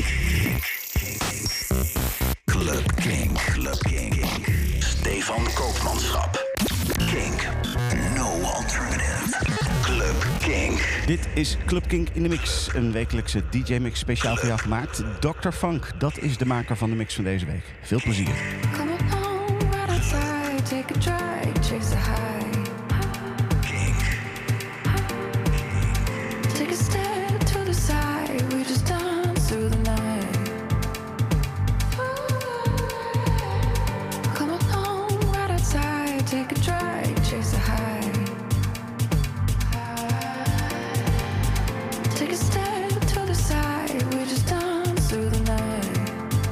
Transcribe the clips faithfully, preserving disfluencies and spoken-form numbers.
Club Kink. Club Kink. Stefan Koopmanschap. Kink. No alternative. Club Kink. Dit is Club Kink in de Mix. Een wekelijkse D J-mix speciaal voor jou gemaakt. dokter Funk, dat is de maker van de mix van deze week. Veel plezier. Come along, right outside, take a drive, chase the high. Kink. Take a step to the side, we just dance through the night. Come along, right outside, take a drive, chase the high. Take a step to the side, we just dance through the night.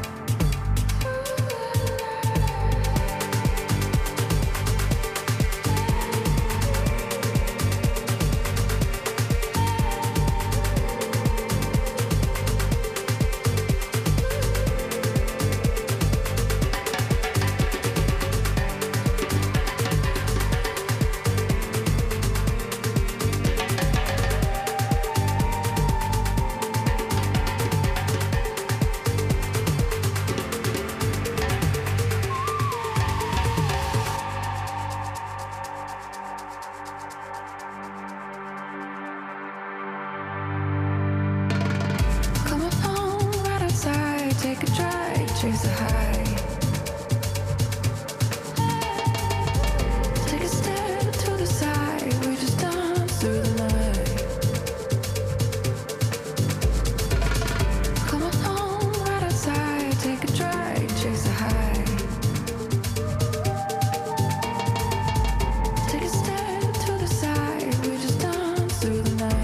Come along, right outside, take a drive, chase the high. Take a step to the side, we just dance through the night. Come along, right outside, take a drive, chase the high. Take a step to the side, we just dance through the night.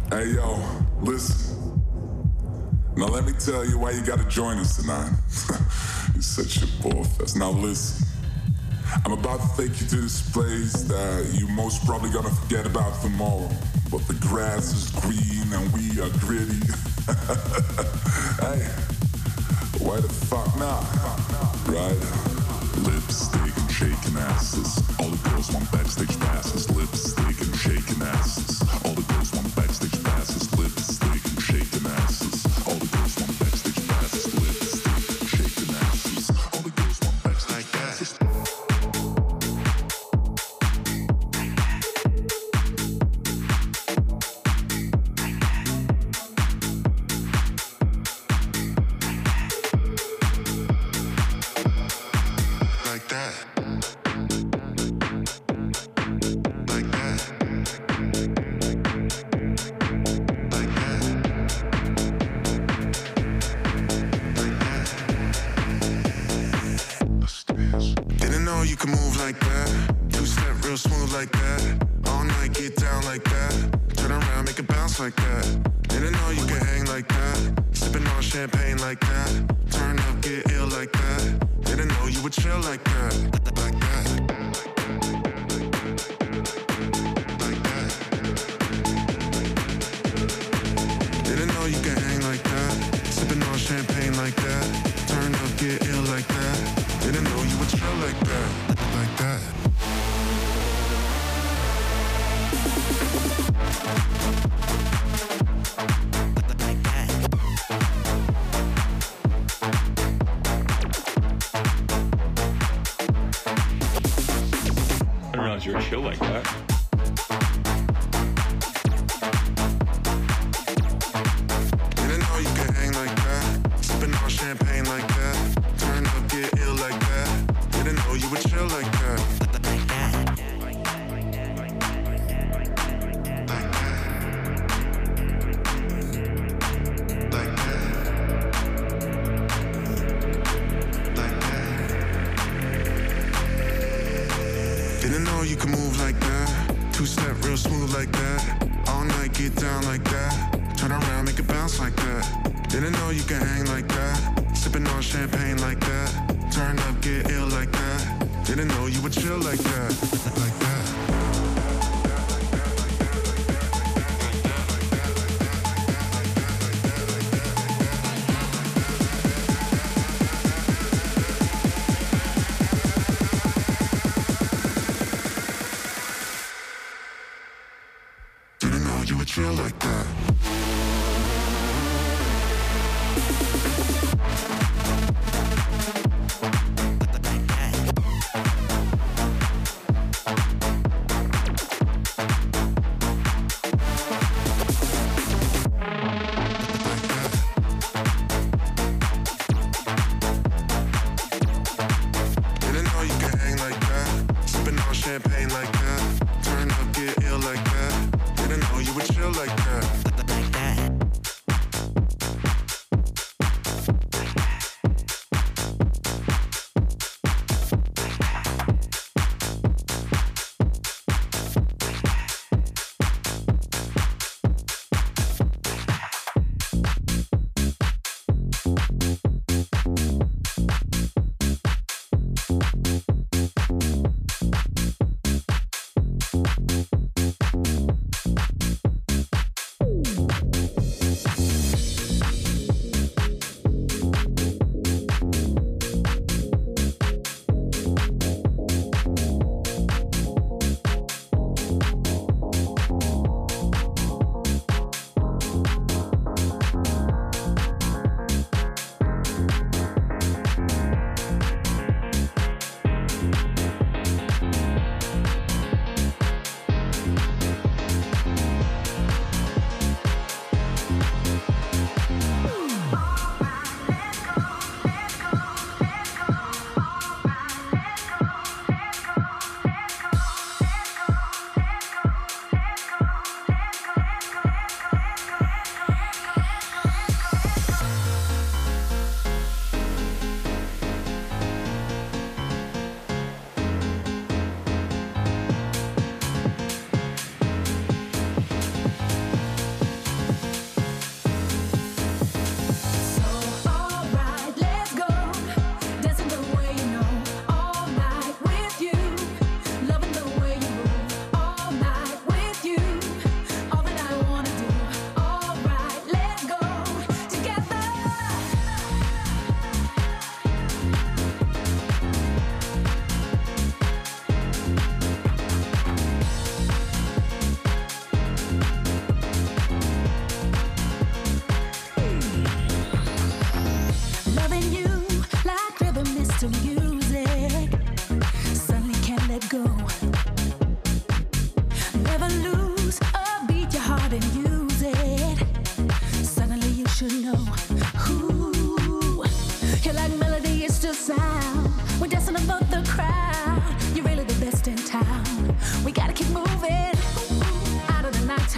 Hey yo, listen. Now let me tell you why you gotta join us tonight. You're such a bullfest. Now listen. I'm about to take you to this place that you most probably gonna forget about tomorrow. But the grass is green and we are gritty. Hey, why the fuck not? Right? Lipstick and shaking asses. All the girls want backstage passes. Lipstick and shaking asses. All the girls want backstage passes. Lipstick and shaking asses. All the girls want backstage passes. Lipstick and shaking asses. All the girls want backstage passes. You're chill like that. Didn't know you could hang like that. Sipping on champagne like that. Turn up, get ill like that. Didn't know you would chill like that. Like that. Like that. Didn't know you could move like that. Two-step real smooth like that. All night get down like that. Turn around, make it bounce like that. Didn't know you could hang like that. Sipping on champagne like that. Turn up, get ill like that. Didn't know you would chill like that. Like that. Chill like that. Didn't know you could hang like that. Sipping on champagne like that. Turn up, get ill like that. Didn't know you would chill like that.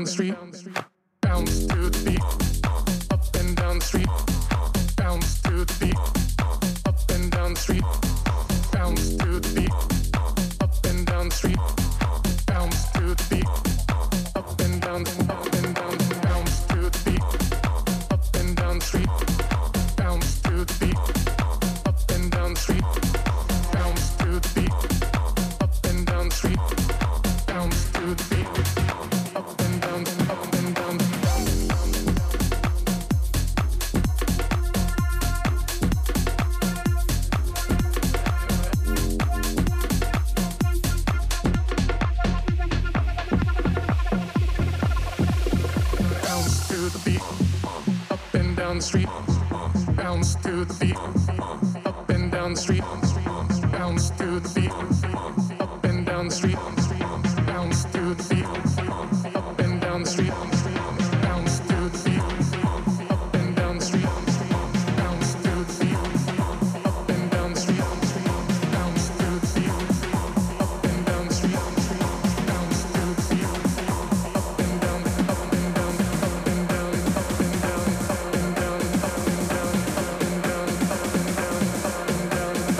down the street, bounce to the beat. Up and down the street, bounce to the beat. Up and down the street, bounce to the beat. Up and down the street, bounce to the beat. Up and down, up and down, bounce to the beat. Up and down the street, bounce to the beat. Up and down the street, bounce to the beat. Up and down the street, bounce to the beat. Up and down, up and down, down. Bounce to the beat, up and down the street. Bounce to the beat, up and down the street. Bounce to the beat, up and down the street. Bounce to the beat, up and down the street. Bounce to the beat, up and down the street. Bounce to the beat, up and down the street. Bounce to the beat, up and down the street. Bounce to the beat, up and down, up and down, up and down, up and down, up and down, up and down, up and down, up and down, up and down, up and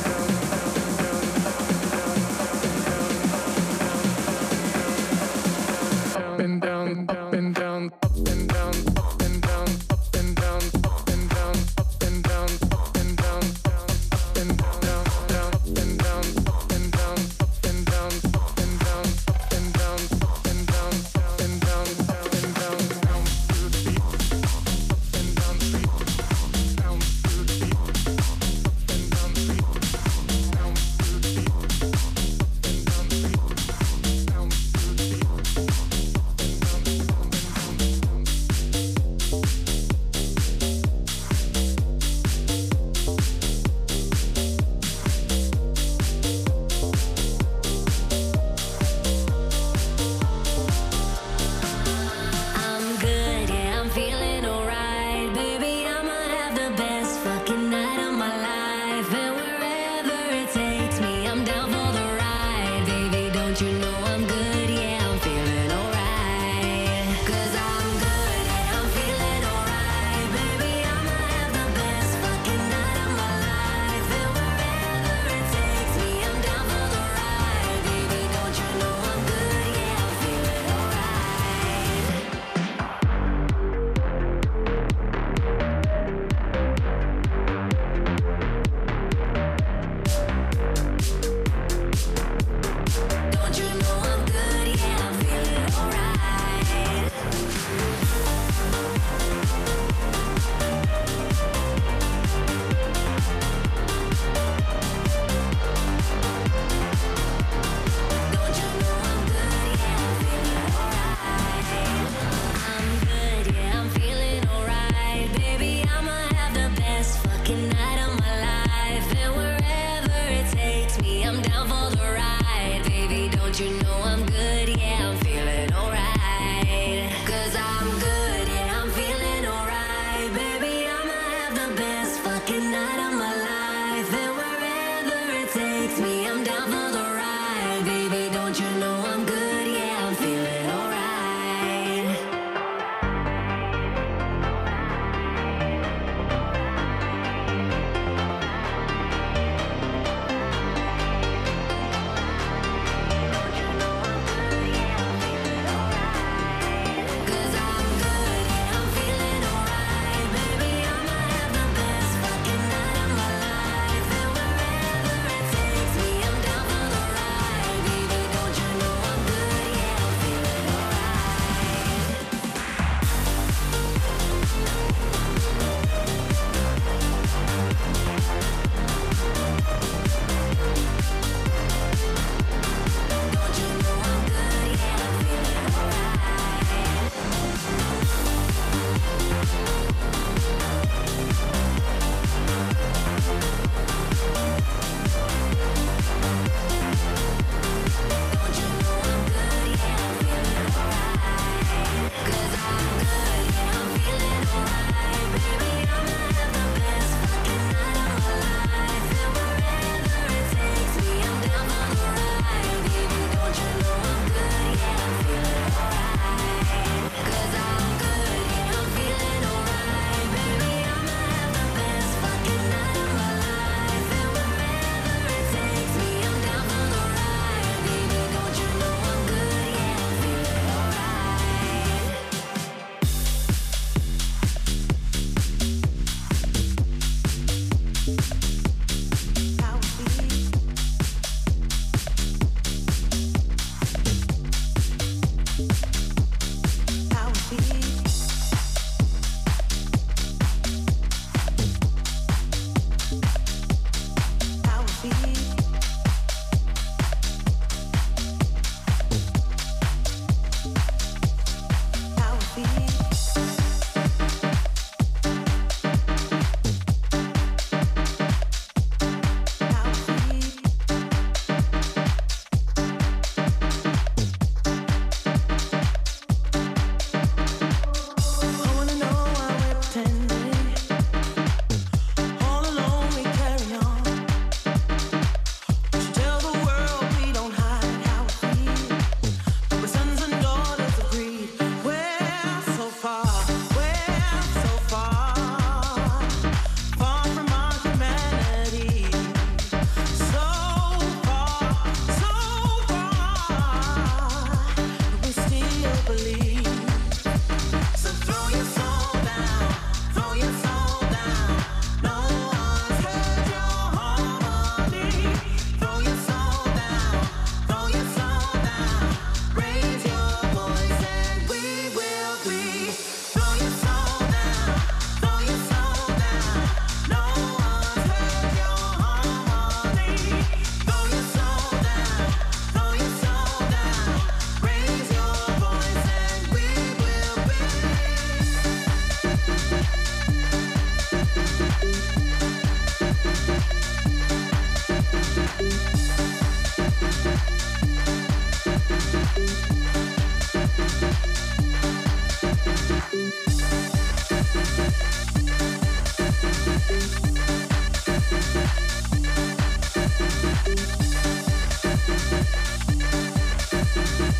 down, up and down, up and down, up and down, up and down, up and down, up and down, up and down, up and down, down, up and down, up and down, up and down, up and down, up and down, up and down, up and down, up and down, bounce to the beat, up and down the street, bounce to the beat, up and down the street, bounce to the beat, up and down the street, bounce to the beat. I'm good, yeah, I'm feeling alright. Baby, I'ma have the best fucking night of my life. And wherever it takes me, I'm down for the ride. Baby, don't you know I'm good, yeah, I'm feeling alright. Cause I'm good, yeah, I'm feeling alright. Baby, I'ma have the best fucking night of my life. And wherever it takes me, I'm down for the ride. Baby, don't you know I'm good, yeah, I'm feeling alright. Don't you know I'm good?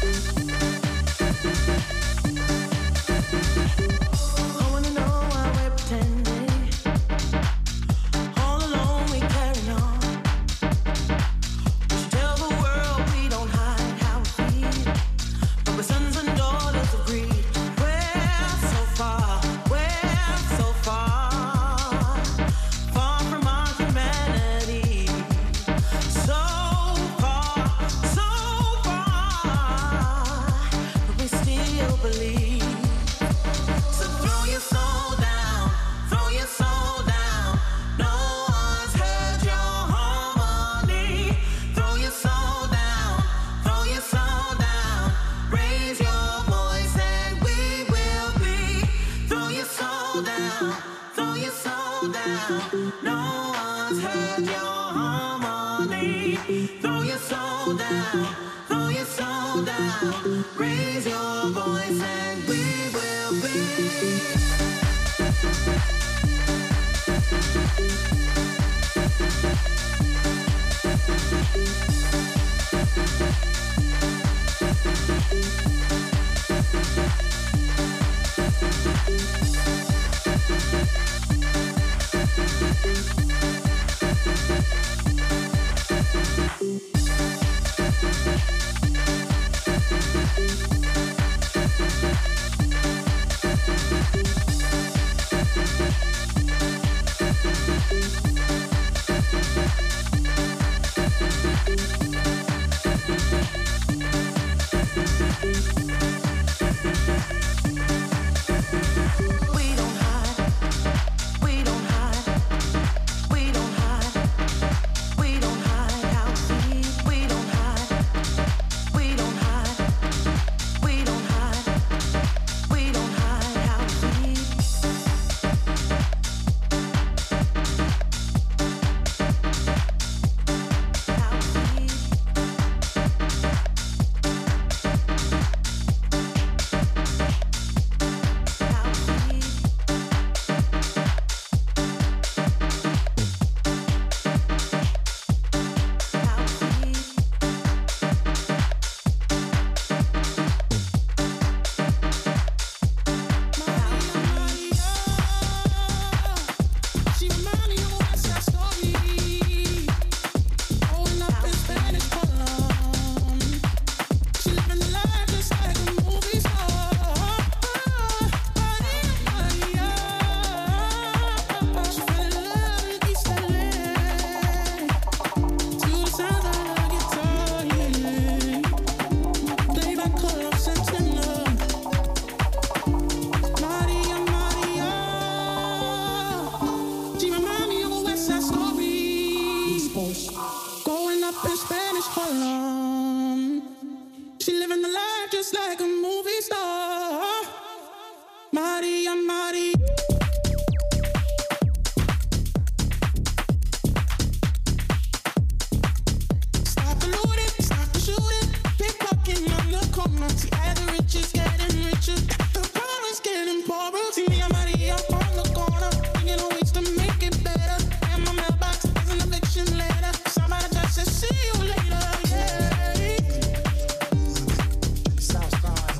Southside.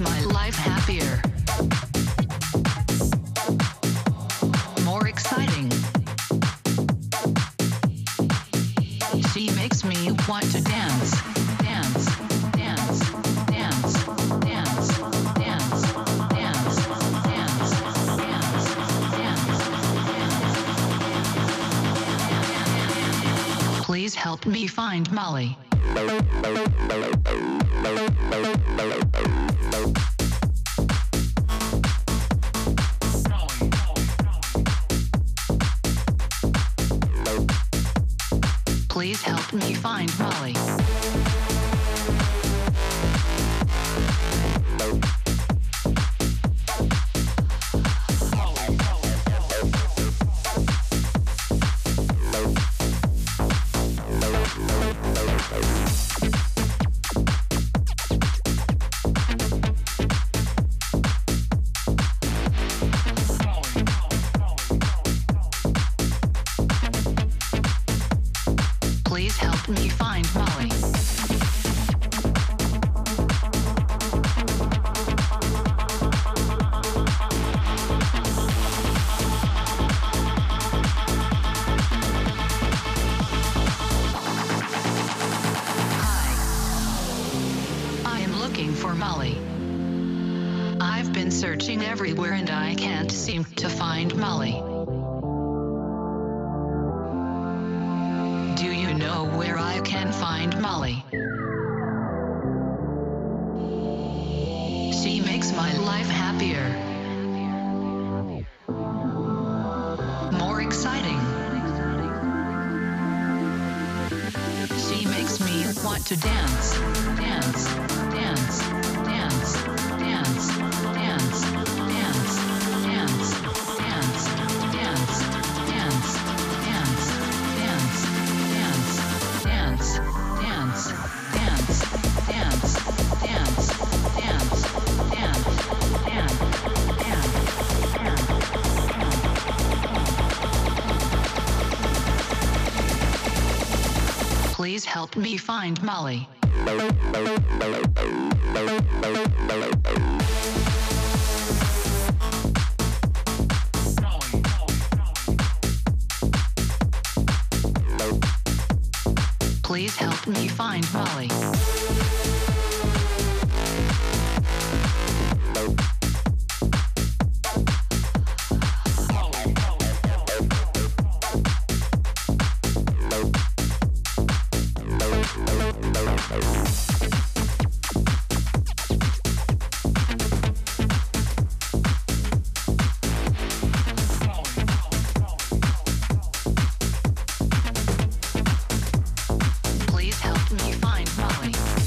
my life happier. More exciting. She makes me want to dance, dance, dance, dance, dance, dance, dance, dance, dance, dance. Please help me find Molly. Please help me find Molly. Please help me find Molly. Hi. I am looking for Molly. I've been searching everywhere and I can't seem to find Molly. Do you know where I can find Molly? She makes my life happier. More exciting. She makes me want to dance, dance, dance, dance, dance, dance, dance, dance, dance, dance, dance, dance, dance. Dance, dance, dance, dance, dance, dance, dance, dance, dance, dance. Please help me find Molly. Please help me find Molly. Please help me find Molly.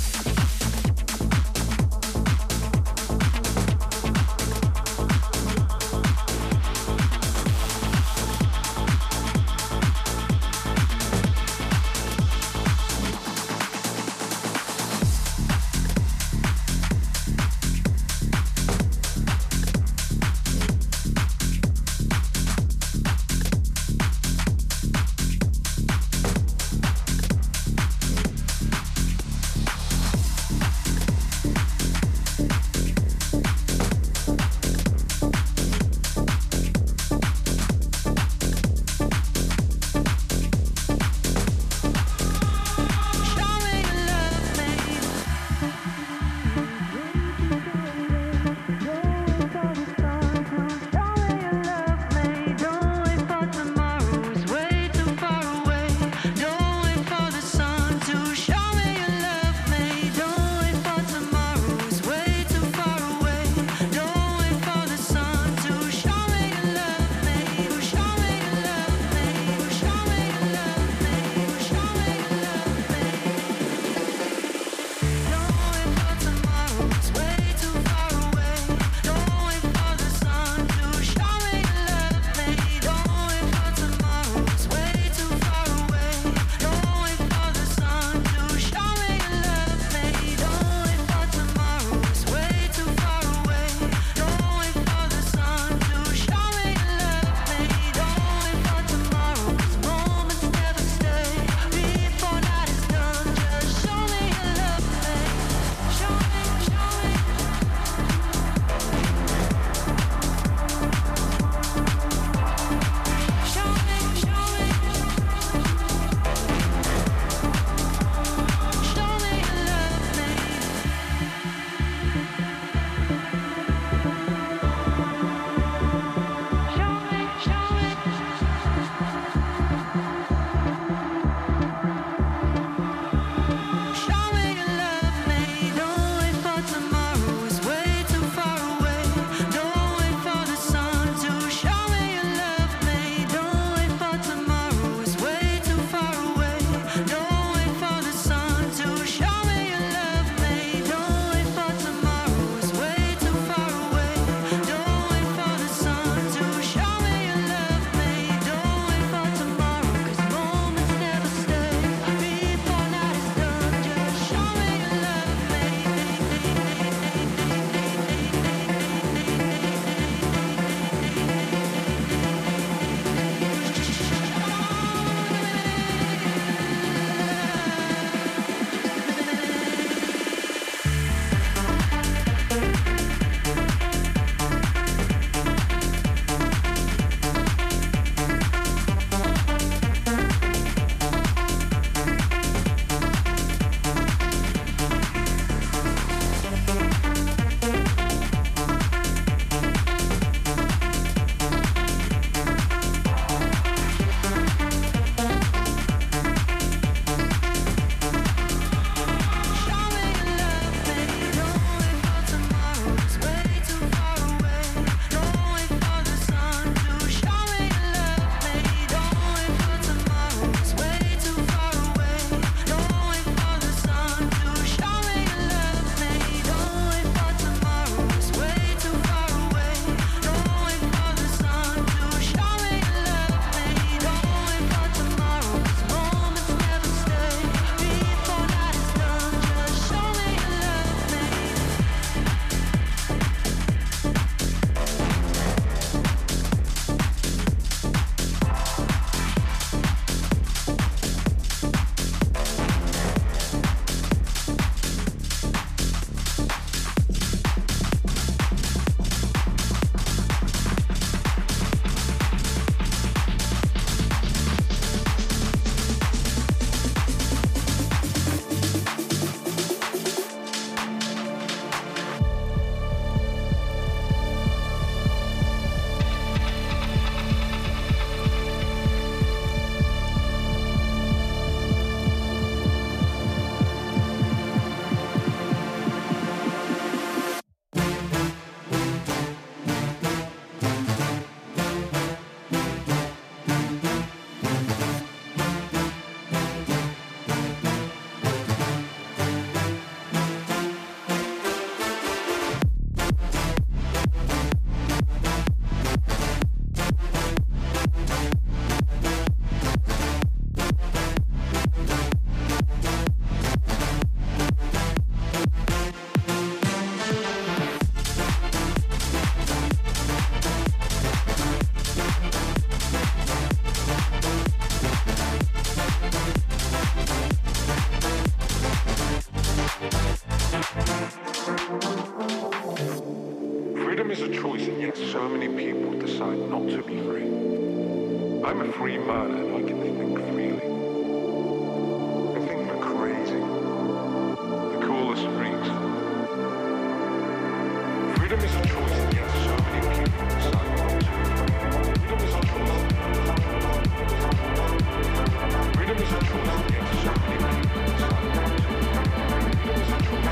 I'm a free man and I can think freely. I think we're crazy. The coolest freaks. Freedom is a choice, and yet so many people decide not to. Freedom is a choice. Freedom is a choice, and yet so many people decide not to. Freedom is a choice.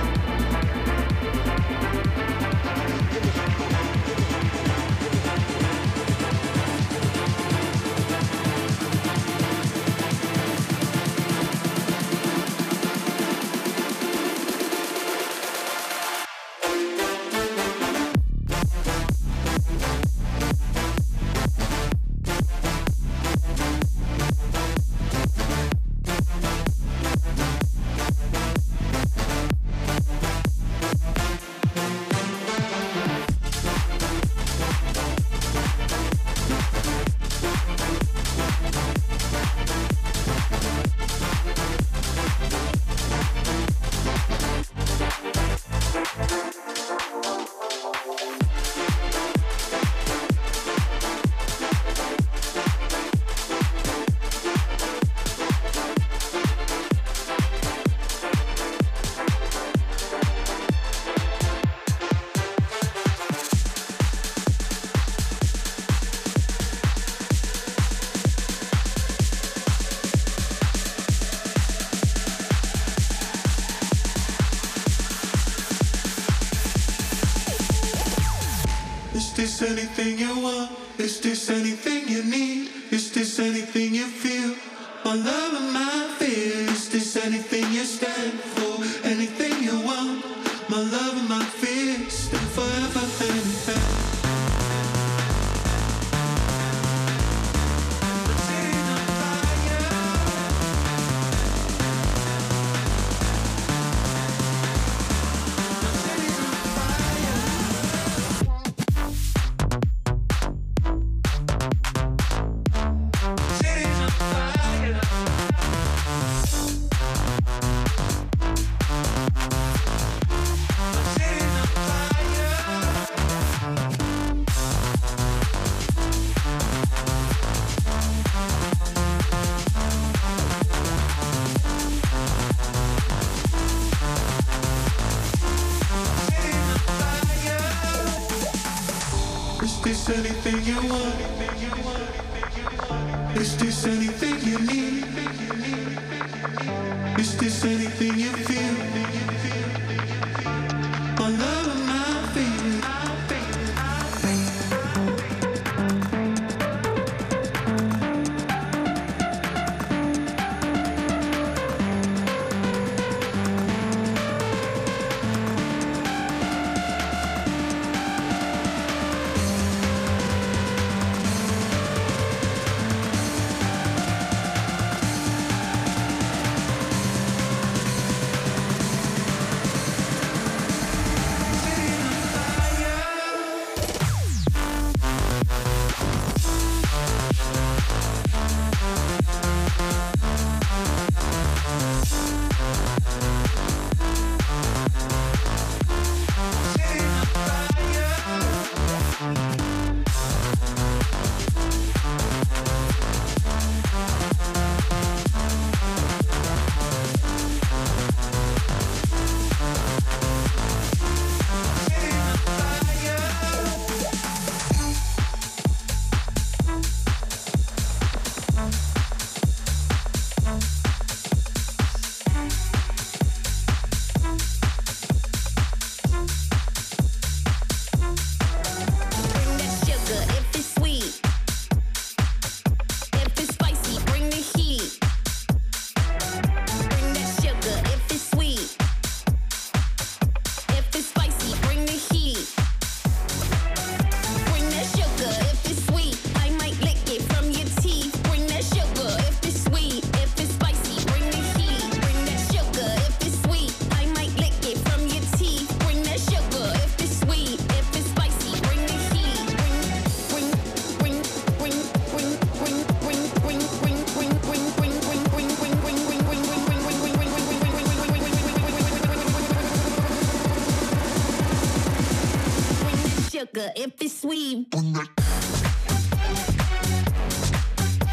Freedom is a choice. Is this anything you want? Is this anything you need? Is this anything you feel? My love and my fear. Is this anything you stand for? Anything you want? My love and my fear. Stand forever anything. Is this anything you want? Is this anything you need? Is this anything you feel? My love and my fear. If it's sweet.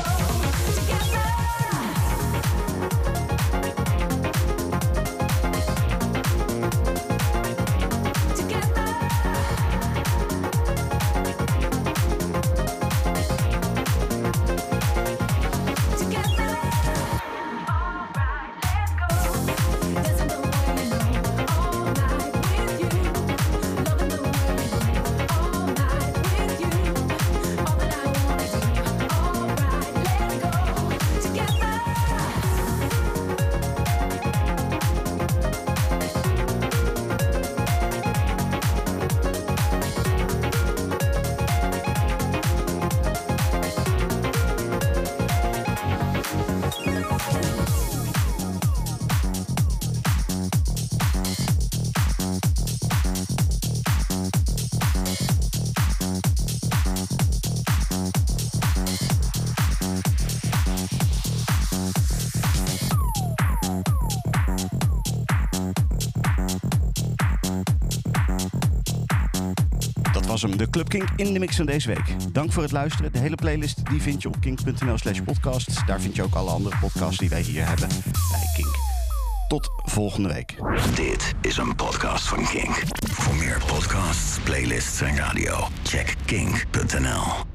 was hem, de Club Kink in de mix van deze week. Dank voor het luisteren. De hele playlist die vind je op kink punt n l slash podcast. Daar vind je ook alle andere podcasts die wij hier hebben bij Kink. Tot volgende week. Dit is een podcast van Kink. Voor meer podcasts, playlists en radio, check kink punt n l.